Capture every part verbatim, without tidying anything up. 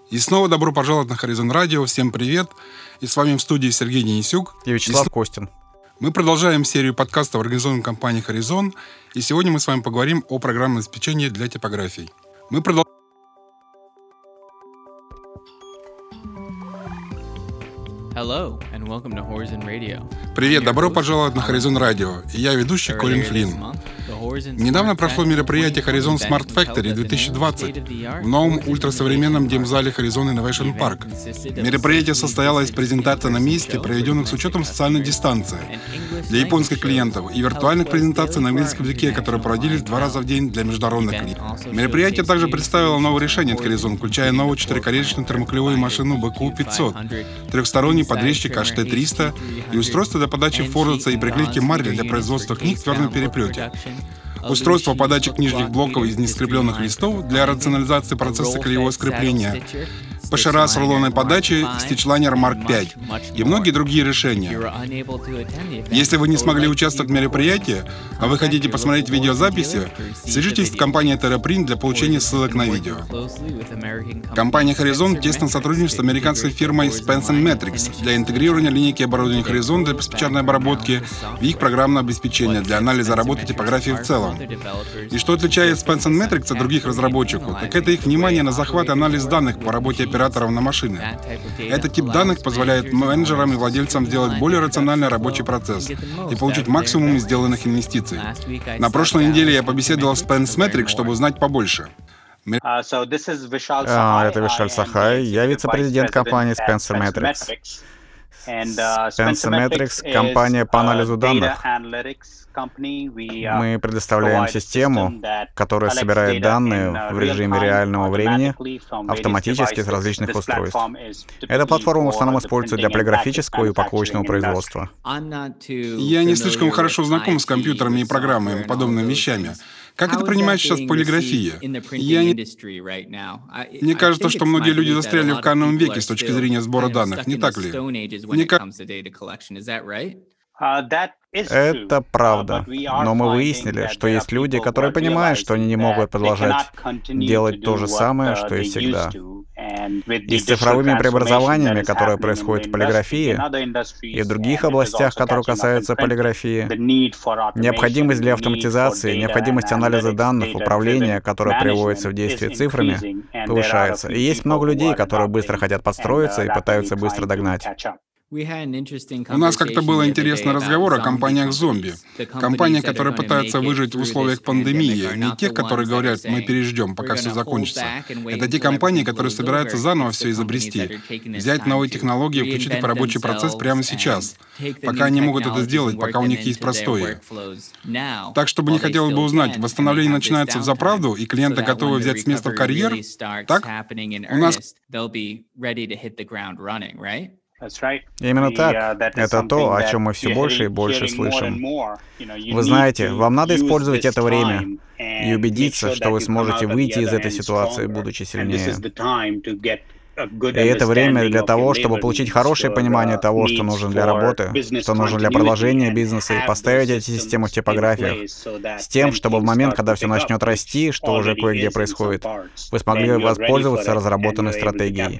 И снова добро пожаловать на Horizon Radio. Всем привет. И с вами в студии Сергей Денисюк. И Вячеслав и Костин. Мы продолжаем серию подкастов, организованной компанией Horizon. И сегодня мы с вами поговорим о программном обеспечении для типографий. Мы продолжаем. Hello, and welcome to Horizon Radio. Привет, добро пожаловать на Horizon Radio. И я ведущий Колин Флинн. Недавно прошло мероприятие Horizon Smart Factory две тысячи двадцать в новом ультрасовременном демзале Horizon Innovation Park. Мероприятие состояло из презентаций на месте, проведенных с учетом социальной дистанции для японских клиентов, и виртуальных презентаций на английском языке, которые проводились два раза в день для международных клиентов. Мероприятие также представило новые решения от Horizon, включая новую четырехколесную термоклеевую машину би кью пятьсот, трехсторонний подрезчик эйч ти триста и устройство для подачи форзаца и приклейки марли для производства книг в твердом переплете. Устройство подачи книжных блоков из нескрепленных листов для рационализации процесса клеевого скрепления, ПШР с рулонной подачей, стичлайнер Марк пять и многие другие решения. Если вы не смогли участвовать в мероприятии, а вы хотите посмотреть видеозаписи, свяжитесь с компанией TerraPrint для получения ссылок на видео. Компания Horizon тесно сотрудничает с американской фирмой Spence энд Matrix для интегрирования линейки оборудования Horizon для печатной обработки в их программное обеспечение для анализа работы типографии в целом. И что отличает Spence энд Matrix от других разработчиков, так это их внимание на захват и анализ данных по работе операторов на машины. Этот тип данных позволяет менеджерам и владельцам сделать более рациональный рабочий процесс и получить максимум из сделанных инвестиций. На прошлой неделе я побеседовал с Spence Matrix, чтобы узнать побольше. А, это Вишаль Сахай, я вице-президент компании Spence Matrix. Spence Matrix — компания по анализу данных. Мы предоставляем систему, которая собирает данные в режиме реального времени автоматически с различных устройств. Эта платформа в основном используется для полиграфического и упаковочного производства. Я не слишком хорошо знаком с компьютерами и программами и подобными вещами. Как это принимается сейчас в полиграфии? Я не... Мне кажется, что многие люди застряли в каменном веке с точки зрения сбора данных, не так ли? Мне кажется... Это правда. Но мы выяснили, что есть люди, которые понимают, что они не могут продолжать делать то же самое, что и всегда. И с цифровыми преобразованиями, которые происходят в полиграфии и в других областях, которые касаются полиграфии, необходимость для автоматизации, необходимость анализа данных, управления, которое приводится в действие цифрами, повышается. И есть много людей, которые быстро хотят подстроиться и пытаются быстро догнать. У нас как-то был интересный разговор о компаниях зомби. Компании, которые пытаются выжить в условиях пандемии, не тех, которые говорят, мы переждем, пока все закончится. Это те компании, которые собираются заново все изобрести, взять новые технологии и включить их в рабочий процесс прямо сейчас, пока они могут это сделать, пока у них есть простое. Так, чтобы не хотелось бы узнать, восстановление начинается взаправду, и клиенты готовы взять с места в карьер? Так? У нас... Именно так. Это то, о чем мы все больше и больше слышим. Вы знаете, вам надо использовать это время и убедиться, что вы сможете выйти из этой ситуации, будучи сильнее. И это время для того, чтобы получить хорошее понимание того, что нужно для работы, что нужно для продолжения бизнеса, и поставить эти системы в типографиях, с тем, чтобы в момент, когда все начнет расти, что уже кое-где происходит, вы смогли воспользоваться разработанной стратегией.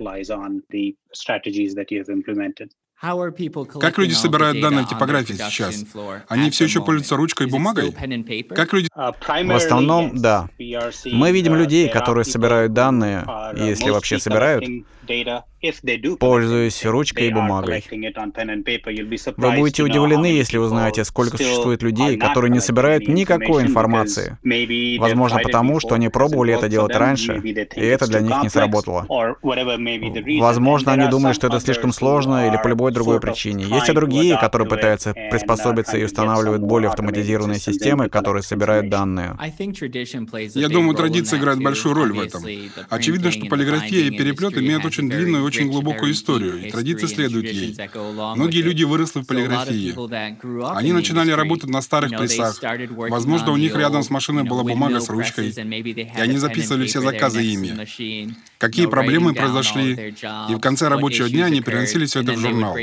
Как люди собирают данные в типографии сейчас? Они все еще пользуются ручкой и бумагой? Как люди... В основном, да. Мы видим людей, которые собирают данные, если вообще собирают, пользуясь ручкой и бумагой. Вы будете удивлены, если узнаете, сколько существует людей, которые не собирают никакой информации. Возможно, потому, что они пробовали это делать раньше, и это для них не сработало. Возможно, они думали, что это слишком сложно или по любой другой причине. Есть и другие, которые пытаются приспособиться и устанавливают более автоматизированные системы, которые собирают данные. Я думаю, традиция играет большую роль в этом. Очевидно, что полиграфия и переплет имеют очень длинную и очень глубокую историю, и традиция следует ей. Многие люди выросли в полиграфии. Они начинали работать на старых прессах. Возможно, у них рядом с машиной была бумага с ручкой, и они записывали все заказы ими. Какие проблемы произошли, и в конце рабочего дня они переносили все это в журнал.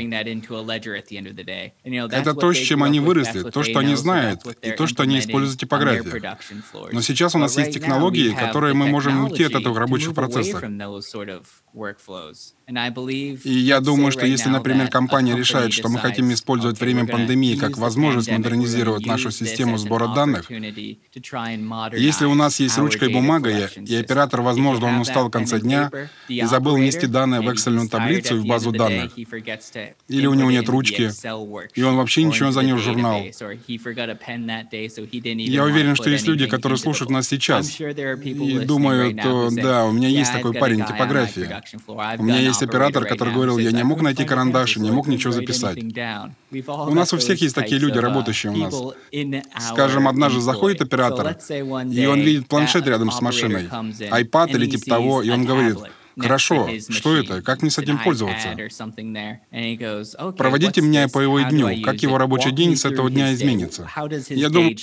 Это то, с чем они выросли, то, что они знают, и то, что они используют в типографии. Но сейчас у нас есть технологии, которые мы можем уйти от этого в рабочих процессах. И я думаю, что если, например, компания решает, что мы хотим использовать время пандемии как возможность модернизировать нашу систему сбора данных, если у нас есть ручка и бумага, и оператор, возможно, он устал в конце дня и забыл внести данные в эксельную таблицу и в базу данных, или у него нет ручки, и он вообще ничего не занес в журнал. Я уверен, что есть люди, которые слушают нас сейчас, и думают, что да, у меня есть такой парень типографии. У меня есть оператор, который говорил, я не мог найти карандаш, не мог ничего записать. У нас у всех есть такие люди, работающие у нас. Скажем, однажды заходит оператор, и он видит планшет рядом с машиной, iPad или типа того, и он говорит, хорошо, что это? Как мне с этим пользоваться? Проводите меня по его дню. Как его рабочий день с этого дня изменится? Я думаю...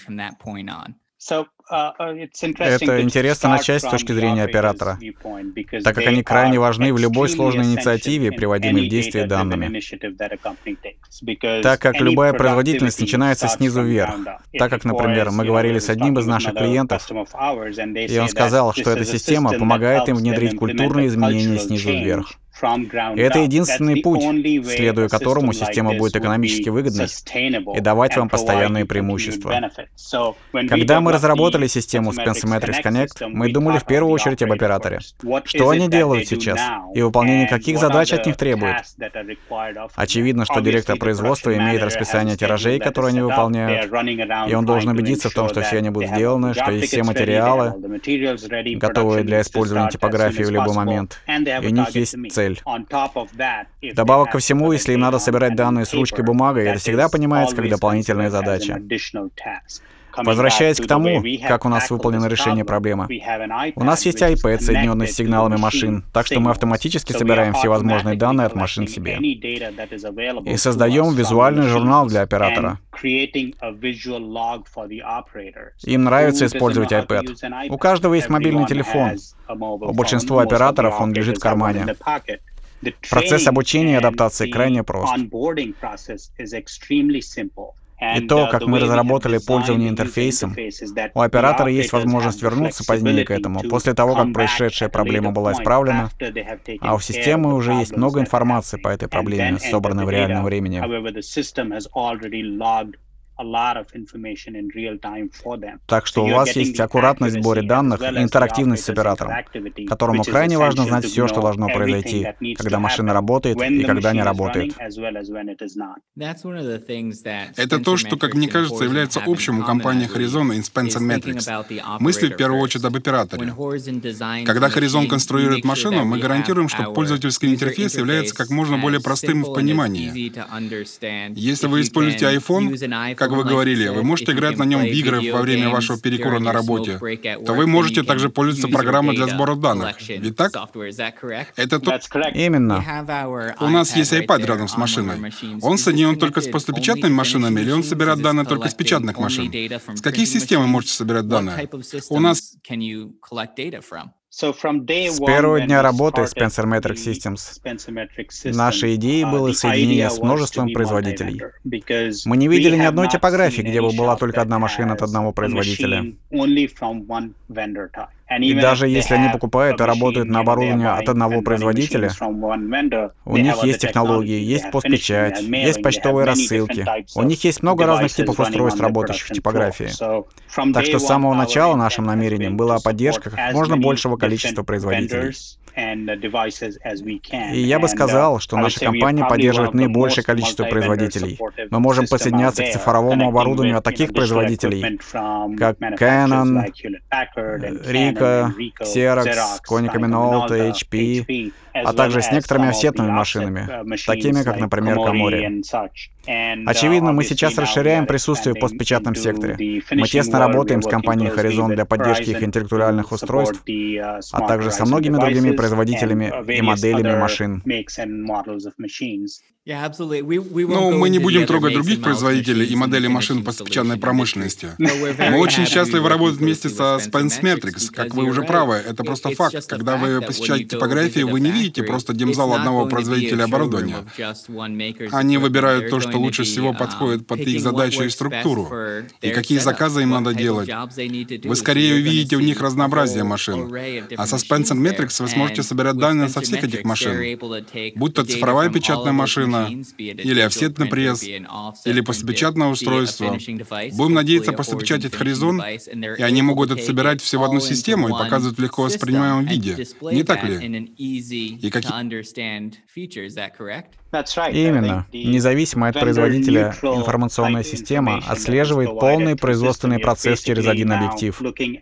Это интересно начать с точки зрения оператора, так как они крайне важны в любой сложной инициативе, приводимой в действие данными. Так как любая производительность начинается снизу вверх. Так как, например, мы говорили с одним из наших клиентов, и он сказал, что эта система помогает им внедрить культурные изменения снизу вверх. И это единственный путь, следуя которому система будет экономически выгодной и давать вам постоянные преимущества. Когда мы разработали систему Spencer Matrix Connect, мы думали в первую очередь об операторе. Что они делают сейчас? И выполнение каких задач от них требует? Очевидно, что директор производства имеет расписание тиражей, которые они выполняют, и он должен убедиться в том, что все они будут сделаны, что есть все материалы, готовые для использования типографии в любой момент, и у них есть цель. Вдобавок ко всему, если им надо собирать данные с ручкой и бумагой, это всегда понимается как дополнительная задача. Возвращаясь к тому, как у нас выполнено решение проблемы. У нас есть iPad, соединенный с сигналами машин, так что мы автоматически собираем все возможные данные от машин себе. И создаем визуальный журнал для оператора. Им нравится использовать iPad. У каждого есть мобильный телефон. У большинства операторов он лежит в кармане. Процесс обучения и адаптации крайне прост. И то, как мы разработали пользование интерфейсом, у оператора есть возможность вернуться позднее к этому, после того, как происшедшая проблема была исправлена, а у системы уже есть много информации по этой проблеме, собранной в реальном времени. Так что у вас есть аккуратность в сборе данных и интерактивность с оператором, которому крайне важно знать все, что должно произойти, когда машина работает и когда не работает. Это то, что, как мне кажется, является общим у компании Horizon и Spencer Matrix. Мысли в первую очередь об операторе. Когда Horizon конструирует машину, мы гарантируем, что пользовательский интерфейс является как можно более простым в понимании. Если вы используете iPhone, как вы говорили, вы можете играть на нем в игры во время вашего перекура на работе, то вы можете также пользоваться программой для сбора данных. Ведь так? Это то... Именно. У нас есть iPad рядом с машиной. Он соединен только с постпечатными машинами, или он собирает данные только с печатных машин? С каких систем вы можете собирать данные? У нас... С первого дня работы Spencer Matrix Systems нашей идеей было соединение с множеством производителей. Мы не видели ни одной типографии, где бы была только одна машина от одного производителя. И даже если они покупают и работают на оборудование от одного производителя, у них есть технологии, есть постпечать, есть почтовые рассылки. У них есть много разных типов устройств, работающих в типографии. Так что с самого начала нашим намерением была поддержка как можно большего количества производителей. И я бы сказал, что наша компания поддерживает наибольшее количество производителей. Мы можем подсоединяться к цифровому оборудованию от таких производителей, как Canon, Ricoh, Xerox, Konica Minolta, эйч пи, а также с некоторыми офсетными машинами, такими как, например, Komori. Очевидно, мы сейчас расширяем присутствие в постпечатном секторе. Мы тесно работаем с компанией Horizon для поддержки их интеллектуальных устройств, а также со многими другими производителями и моделями машин. Но мы не будем трогать других производителей и моделей машин по печатной промышленности. Мы очень счастливы работать вместе со Spence Matrix. Как вы уже правы, это просто факт. Когда вы посещаете типографии, вы не видите просто демзал одного производителя оборудования. Они выбирают то, что лучше всего подходит под их задачу и структуру, и какие заказы им надо делать. Вы скорее увидите у них разнообразие машин. А со Spence Matrix вы сможете собирать данные со всех этих машин. Будь то цифровая печатная машина, или офсетный пресс, или постпечатное устройство. Будем надеяться постпечатать Horizon, и они могут это собирать все в одну систему и показывать в легко воспринимаемом виде. Не так ли? И какие... Именно. Независимо от производителя, информационная система отслеживает полный производственный процесс через один объектив.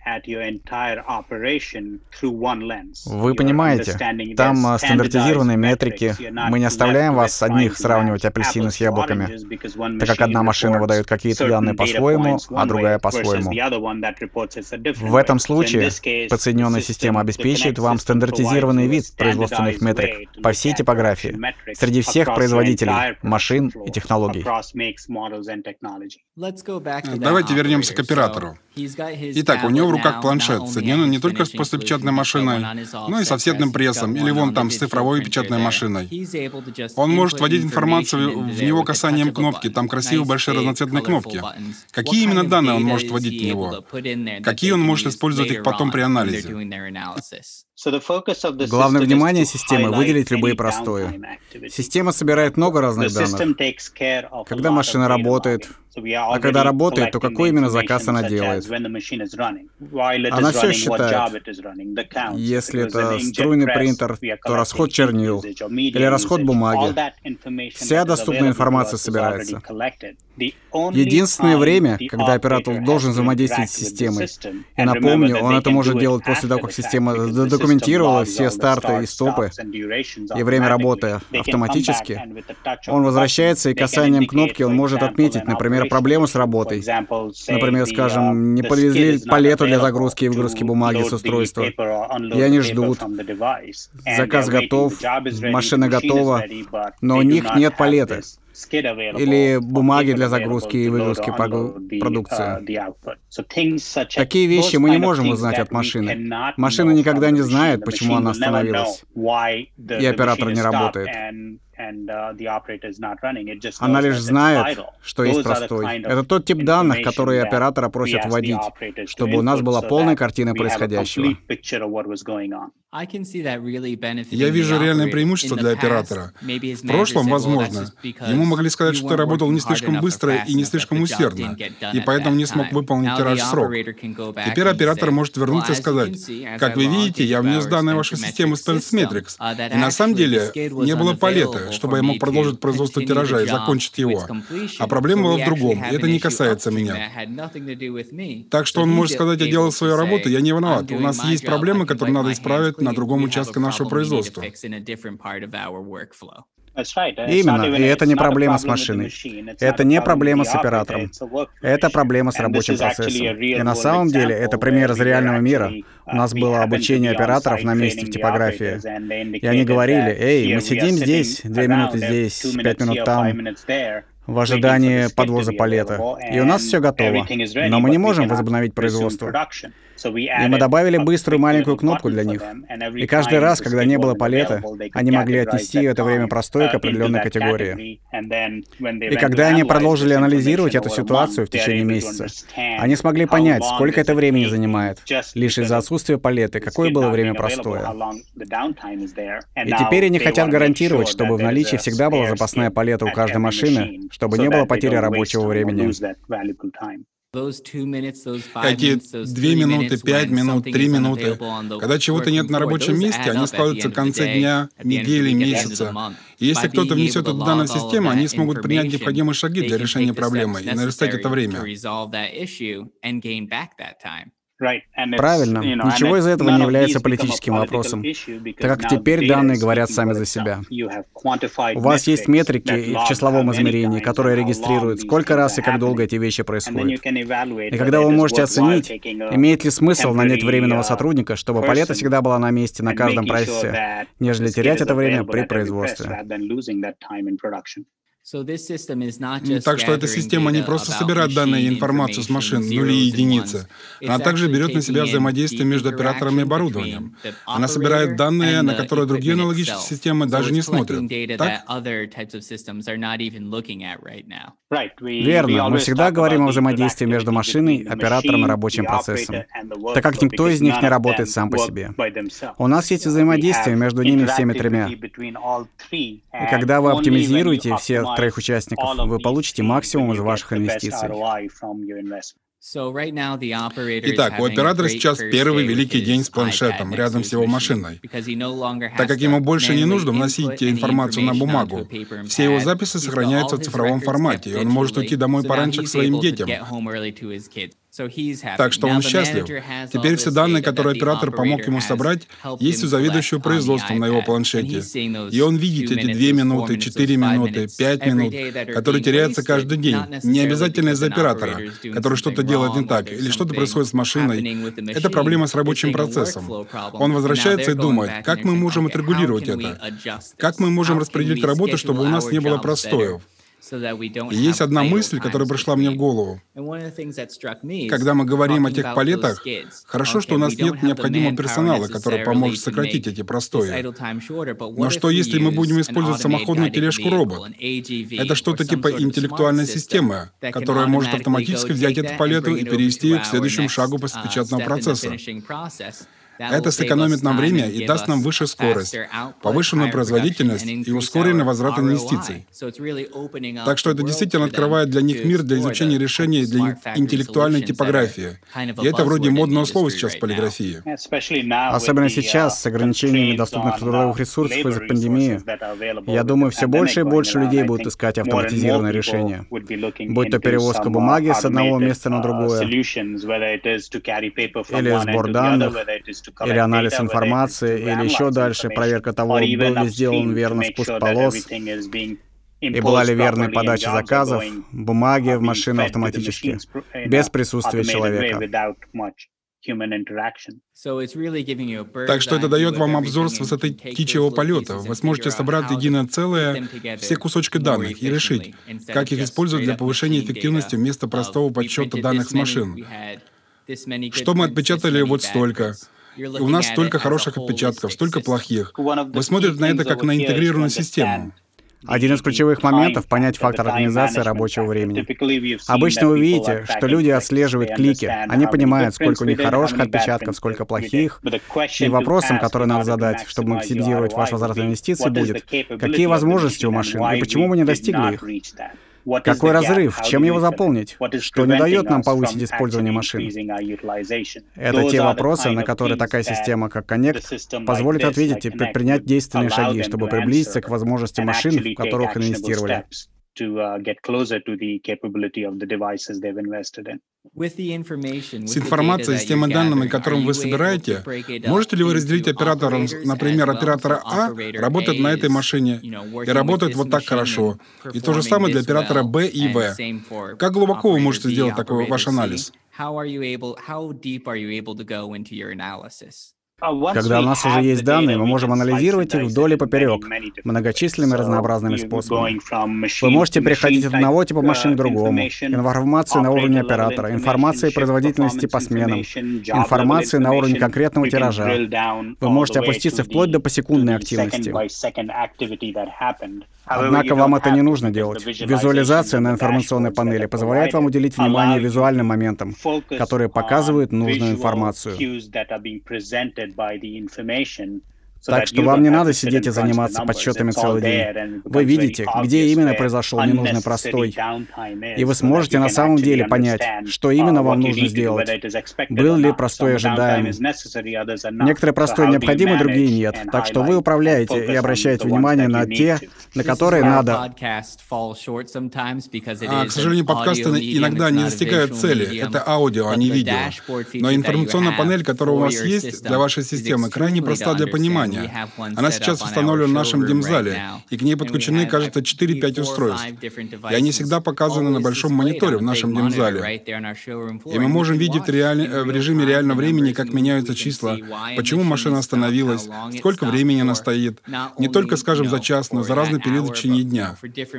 Вы понимаете, там стандартизированные метрики. Мы не оставляем вас одних сравнивать апельсины с яблоками, так как одна машина выдает какие-то данные по-своему, а другая по-своему. В этом случае подсоединенная система обеспечивает вам стандартизированный вид производственных метрик по всей типографии, среди всех производителей, машин и технологий. Давайте вернемся к оператору. Итак, у него в руках планшет, соединенный не только с постпечатной машиной, но и с офсетным прессом, или вон там с цифровой печатной машиной. Он может вводить информацию в него касанием кнопки, там красивые большие разноцветные кнопки. Какие именно данные он может вводить в него? Какие он может использовать их потом при анализе? Главное внимание системы — выделить любые простои. Система собирает много разных данных. Когда машина работает, а когда работает, то какой именно заказ она делает? Она все считает. Если это струйный принтер, то расход чернил или расход бумаги. Вся доступная информация собирается. Единственное время, когда оператор должен взаимодействовать с системой, и напомню, он это может делать после того, как система задокументировала все старты и стопы, и время работы автоматически, он возвращается, и касанием кнопки он может отметить, например, проблему с работой. Например, скажем, не подвезли палету для загрузки и выгрузки бумаги с устройства, и они ждут. Заказ готов, машина готова, но у них нет палеты или бумаги для загрузки и выгрузки продукции. Такие вещи мы не можем узнать от машины. Машина никогда не знает, почему она остановилась, и оператор не работает. Она лишь знает, что есть простой. Это тот тип данных, которые оператора просят вводить, чтобы у нас была полная картина происходящего. Я вижу реальное преимущество для оператора. В прошлом, возможно, ему могли сказать, что работал не слишком быстро и не слишком усердно, и поэтому не смог выполнить тираж в срок. Теперь оператор может вернуться и сказать: «Как вы видите, я внес данные в вашу систему Spence Matrix, и на самом деле не было палеты, чтобы я мог продолжить производство тиража и закончить его. А проблема была в другом, и это не касается меня». Так что он может сказать: «Я делал свою работу, я не виноват. У нас есть проблемы, которые надо исправить на другом участке нашего производства». Именно, и это не проблема с машиной. Это не проблема с оператором. Это проблема с рабочим процессом. И на самом деле это пример из реального мира. У нас было обучение операторов на месте в типографии. И они говорили: «Эй, мы сидим здесь, две минуты здесь, пять минут там, в ожидании подвоза палета. И у нас все готово. Но мы не можем возобновить производство». И мы добавили быструю маленькую кнопку для них. И каждый раз, когда не было палета, они могли отнести это время простое к определенной категории. И когда они продолжили анализировать эту ситуацию в течение месяца, они смогли понять, сколько это времени занимает, лишь из-за отсутствия палеты, какое было время простое. И теперь они хотят гарантировать, чтобы в наличии всегда была запасная палета у каждой машины, чтобы не было потери рабочего времени. Эти две минуты, пять минут, три минуты, когда чего-то нет на рабочем месте, они складываются в конце дня, недели, месяца. И если кто-то внесет это в данную систему, они смогут принять необходимые шаги для решения проблемы и наверстать это время. Правильно. Ничего из этого не является политическим вопросом, так как теперь данные говорят сами за себя. У вас есть метрики в числовом измерении, которые регистрируют, сколько раз и как долго эти вещи происходят. И когда вы можете оценить, имеет ли смысл нанять временного сотрудника, чтобы палета всегда была на месте на каждом процессе, нежели терять это время при производстве. Так что эта система не просто собирает данные и информацию с машин, нули и единицы, она также берет на себя взаимодействие между операторами и оборудованием. Она собирает данные, на которые другие аналогичные системы даже не смотрят. Так? Верно. Мы всегда говорим о взаимодействии между машиной, оператором и рабочим процессом, так как никто из них не работает сам по себе. У нас есть взаимодействие между ними всеми тремя. И когда вы оптимизируете все троих участников, вы получите максимум из ваших инвестиций. Итак, у оператора сейчас первый великий день с планшетом рядом с его машиной. Так как ему больше не нужно вносить информацию на бумагу, все его записи сохраняются в цифровом формате, и он может уйти домой пораньше к своим детям. Так что он счастлив. Теперь все данные, которые оператор помог ему собрать, есть у заведующего производством на его планшете. И он видит эти две минуты, четыре минуты, пять минут, которые теряются каждый день. Не обязательно из-за оператора, который что-то делает не так, или что-то происходит с машиной. Это проблема с рабочим процессом. Он возвращается и думает, как мы можем отрегулировать это? Как мы можем распределить работу, чтобы у нас не было простоев? И есть одна мысль, которая пришла мне в голову. Когда мы говорим о тех палетах, хорошо, что у нас нет необходимого персонала, который поможет сократить эти простои. Но что, если мы будем использовать самоходную тележку-робот? Это что-то типа интеллектуальной системы, которая может автоматически взять эту палету и перевести ее к следующему шагу печатного процесса. Это сэкономит нам время и даст нам выше скорость, повышенную производительность и ускоренный возврат инвестиций. Так что это действительно открывает для них мир для изучения решений для интеллектуальной типографии. И это вроде модного слова сейчас в полиграфии. Особенно сейчас, с ограничениями доступных трудовых ресурсов из-за пандемии, я думаю, все больше и больше людей будут искать автоматизированные решения. Будь то перевозка бумаги с одного места на другое, или сбор данных, или анализ информации, или еще дальше проверка того, был ли сделан верно спуск полос, и была ли верная подача заказов, бумаги в машину автоматически, без присутствия человека. Так что это дает вам обзор с высоты птичьего полета. Вы сможете собрать единое целое, все кусочки данных, и решить, как их использовать для повышения эффективности вместо простого подсчета данных с машин. Что мы отпечатали вот столько. И у нас столько хороших отпечатков, столько плохих. Вы смотрите на это как на интегрированную систему. Один из ключевых моментов — понять фактор организации рабочего времени. Обычно вы видите, что люди отслеживают клики, они понимают, сколько у них хороших отпечатков, сколько плохих. И вопросом, который надо задать, чтобы максимизировать ваш возврат инвестиций, будет, какие возможности у машин и почему мы не достигли их? Какой разрыв? Чем его заполнить? Что не дает нам повысить использование машин? Это те вопросы, на которые такая система, как Connect, позволит ответить и предпринять действенные шаги, чтобы приблизиться к возможностям машин, в которых инвестировали. С информацией, с теми данными, которым вы собираете, можете ли вы разделить оператором, например, оператора А работает на этой машине и работает вот так хорошо, и то же самое для оператора Б и В? Как глубоко вы можете сделать такой ваш анализ? Когда у нас уже есть данные, мы можем анализировать их вдоль и поперек, многочисленными разнообразными способами. Вы можете переходить от одного типа машин к другому, информации на уровне оператора, информации производительности по сменам, информации на уровне конкретного тиража. Вы можете опуститься вплоть до посекундной активности. Однако вам это не нужно делать. Визуализация на информационной панели позволяет вам уделить внимание визуальным моментам, которые показывают нужную информацию. Так что вам не надо сидеть и заниматься подсчетами целый день. Вы видите, где именно произошел ненужный простой, и вы сможете на самом деле понять, что именно вам нужно сделать. Был ли простой ожидаем? Некоторые простой необходимы, другие нет. Так что вы управляете и обращаете внимание на те, на которые надо. А, к сожалению, подкасты иногда не достигают цели. Это аудио, а не видео. Но информационная панель, которая у вас есть для вашей системы, крайне проста для понимания. Она сейчас установлена в нашем демзале, и к ней подключены, кажется, четыре-пять устройств. И они всегда показаны на большом мониторе в нашем демзале. И мы можем видеть в, реаль... в режиме реального времени, как меняются числа, почему машина остановилась, сколько времени она стоит. Не только, скажем, за час, но за разные периоды в течение дня.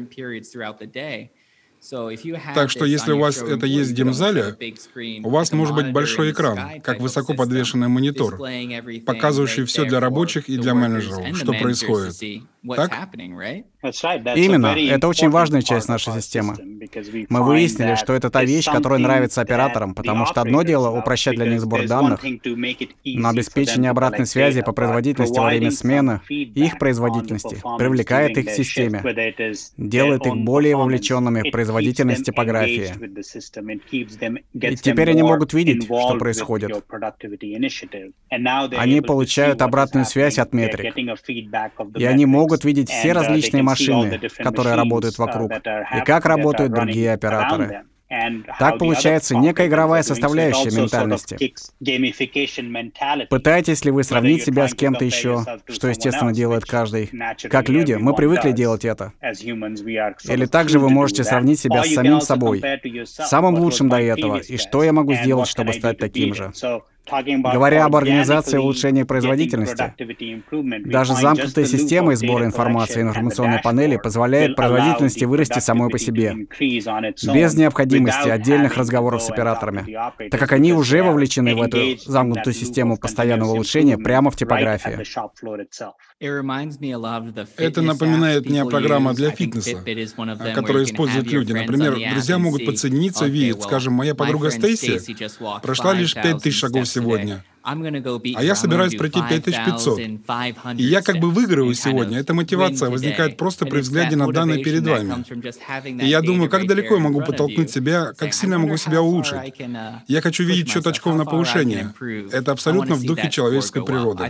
Так что если у вас это есть в демзале, у вас может быть большой экран, как высоко подвешенный монитор, показывающий все для рабочих и для менеджеров, что происходит. Так? Именно. Это очень важная часть нашей системы. Мы выяснили, что это та вещь, которая нравится операторам, потому что одно дело упрощать для них сбор данных, но обеспечение обратной связи по производительности во время смены и их производительности привлекает их к системе, делает их более вовлеченными в производительность типографии. И теперь они могут видеть, что происходит. Они получают обратную связь от метрик, и они могут видеть все различные машины, которые работают вокруг, и как работают другие операторы. Так получается некая игровая составляющая ментальности. Пытаетесь ли вы сравнить себя с кем-то еще, что, естественно, делает каждый? Как люди, мы привыкли делать это. Или также вы можете сравнить себя с самим собой, самым лучшим до этого, и что я могу сделать, чтобы стать таким же. Говоря об организации улучшения производительности, даже замкнутая система сбора информации информационной панели позволяет производительности вырасти самой по себе, без необходимости отдельных разговоров с операторами, так как они уже вовлечены в эту замкнутую систему постоянного улучшения прямо в типографии. Это напоминает мне программу для фитнеса, которую используют люди. Например, друзья могут подсоединиться и видеть, скажем, моя подруга Стейси прошла лишь пять тысяч шагов сегодня, а я собираюсь пройти пять тысяч пятьсот. И я как бы выигрываю сегодня. Эта мотивация возникает просто при взгляде на данные перед вами. И я думаю, как далеко я могу подтолкнуть себя, как сильно я могу себя улучшить. Я хочу видеть счет очков на повышение. Это абсолютно в духе человеческой природы.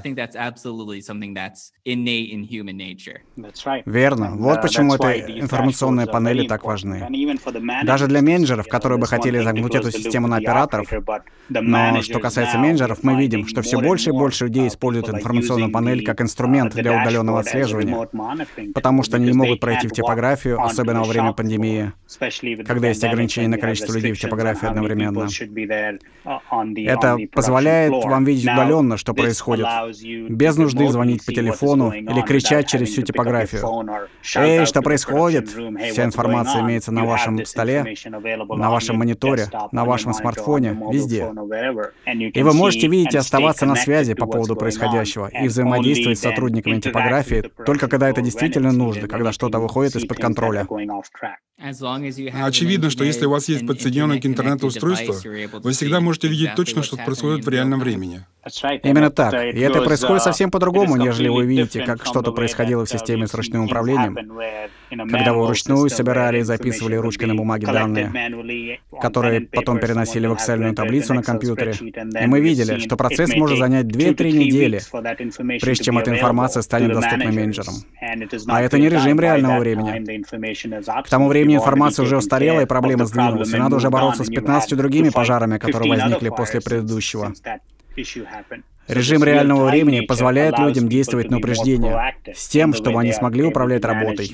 Верно. Вот почему эти информационные панели так важны. Даже для менеджеров, которые бы хотели загнуть эту систему на операторов. Но что касается менеджеров, мы видим, что все больше и больше людей используют информационную панель как инструмент для удаленного отслеживания, потому что они не могут пройти в типографию, особенно во время пандемии, когда есть ограничение на количество людей в типографии одновременно. Это позволяет вам видеть удаленно, что происходит, без нужды звонить по телефону или кричать через всю типографию. «Эй, что происходит?» Вся информация имеется на вашем столе, на вашем мониторе, на вашем смартфоне, везде. И вы можете видеть и оставаться на связи по поводу происходящего и взаимодействовать с сотрудниками типографии только когда это действительно нужно, когда что-то выходит из-под контроля. Очевидно, что если у вас есть подсоединенное к интернету устройство, вы всегда можете видеть точно, что происходит в реальном времени. Именно так. И это происходит совсем по-другому, нежели вы видите, как что-то происходило в системе с ручным управлением, когда вы вручную собирали и записывали ручкой на бумаге данные, которые потом переносили в Excel-ную таблицу на компьютере. И мы видели, что процесс может занять две-три недели, прежде чем эта информация станет доступна менеджерам. А это не режим реального времени. К тому времени информация уже устарела, и проблема сдвинулась, и надо уже бороться с пятнадцатью другими пожарами, которые возникли после предыдущего. Режим реального времени позволяет людям действовать на упреждение, с тем, чтобы они смогли управлять работой.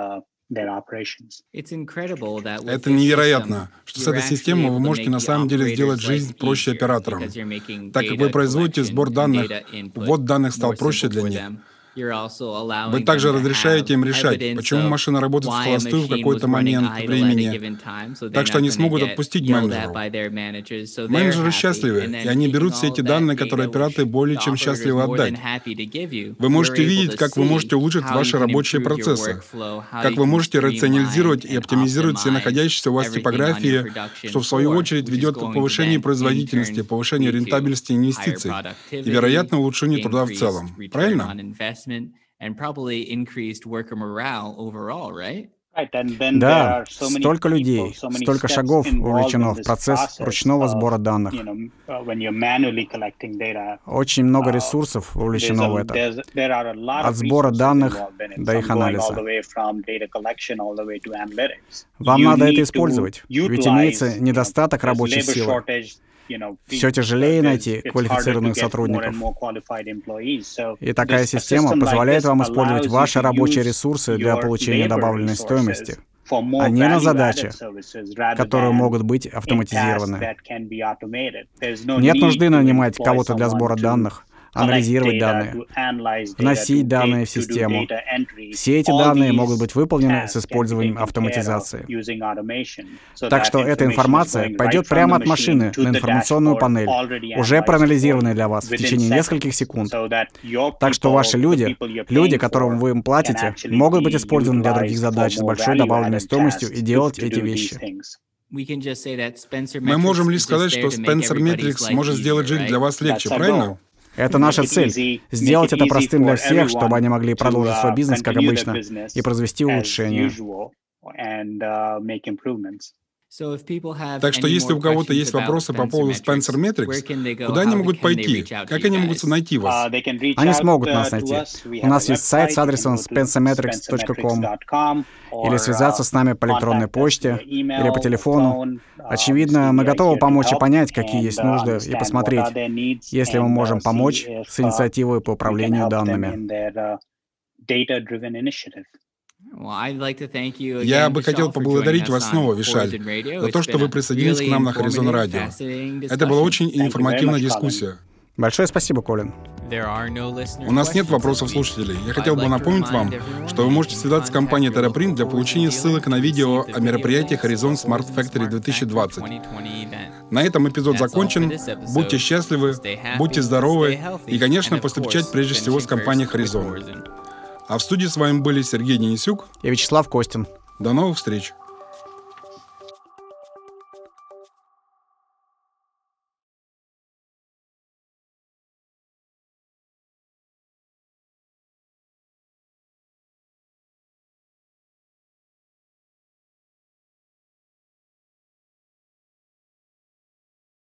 Это невероятно, что с этой системой вы можете на самом деле сделать жизнь проще операторам, так как вы производите сбор данных, ввод данных стал проще для них. Вы также разрешаете им решать, почему машина работает в холостую в какой-то момент времени, так что они смогут отпустить менеджеру. Менеджеры счастливы, и они берут все эти данные, которые операторы более чем счастливы отдать. Вы можете видеть, как вы можете улучшить ваши рабочие процессы, как вы можете рационализировать и оптимизировать все находящиеся у вас типографии, что в свою очередь ведет к повышению производительности, повышению рентабельности инвестиций и, вероятно, улучшению труда в целом. Правильно? Да, столько людей, столько шагов вовлечено в процесс ручного сбора данных. Очень много ресурсов вовлечено в это. От сбора данных до их анализа. Вам надо это использовать, ведь имеется недостаток рабочей силы. Все тяжелее найти квалифицированных сотрудников. И такая система позволяет вам использовать ваши рабочие ресурсы для получения добавленной стоимости, а не на задачи, которые могут быть автоматизированы. Нет нужды нанимать кого-то для сбора данных, анализировать данные, вносить данные в систему. Все эти данные могут быть выполнены с использованием автоматизации. Так что эта информация пойдет прямо от машины на информационную панель, уже проанализированная для вас в течение нескольких секунд. Так что ваши люди, люди, которым вы им платите, могут быть использованы для других задач с большой добавленной стоимостью и делать эти вещи. Мы можем лишь сказать, что Spencer Metrics может сделать жизнь для вас легче, правильно? Это наша цель — сделать это простым для всех, чтобы они могли продолжить свой бизнес, как обычно, и произвести улучшения. Так что если у кого-то есть вопросы по поводу Spencer Metrics, куда они могут пойти? Как они могут найти вас? Они смогут нас найти. У нас есть сайт с адресом spencer metrics точка com, или связаться с нами по электронной почте, или по телефону. Очевидно, мы готовы помочь и понять, какие есть нужды, и посмотреть, если мы можем помочь с инициативой по управлению данными. Я бы хотел поблагодарить вас снова, Вишаль, за то, что вы присоединились к нам на Horizon Radio. Это была очень информативная дискуссия. Большое спасибо, Колин. У нас нет вопросов слушателей. Я хотел бы напомнить вам, что вы можете связаться с компанией TerraPrint для получения ссылок на видео о мероприятии Horizon Smart Factory две тысячи двадцать. На этом эпизод закончен. Будьте счастливы, будьте здоровы и, конечно, поступать прежде всего с компанией Horizon. А в студии с вами были Сергей Денисюк и Вячеслав Костин. До новых встреч!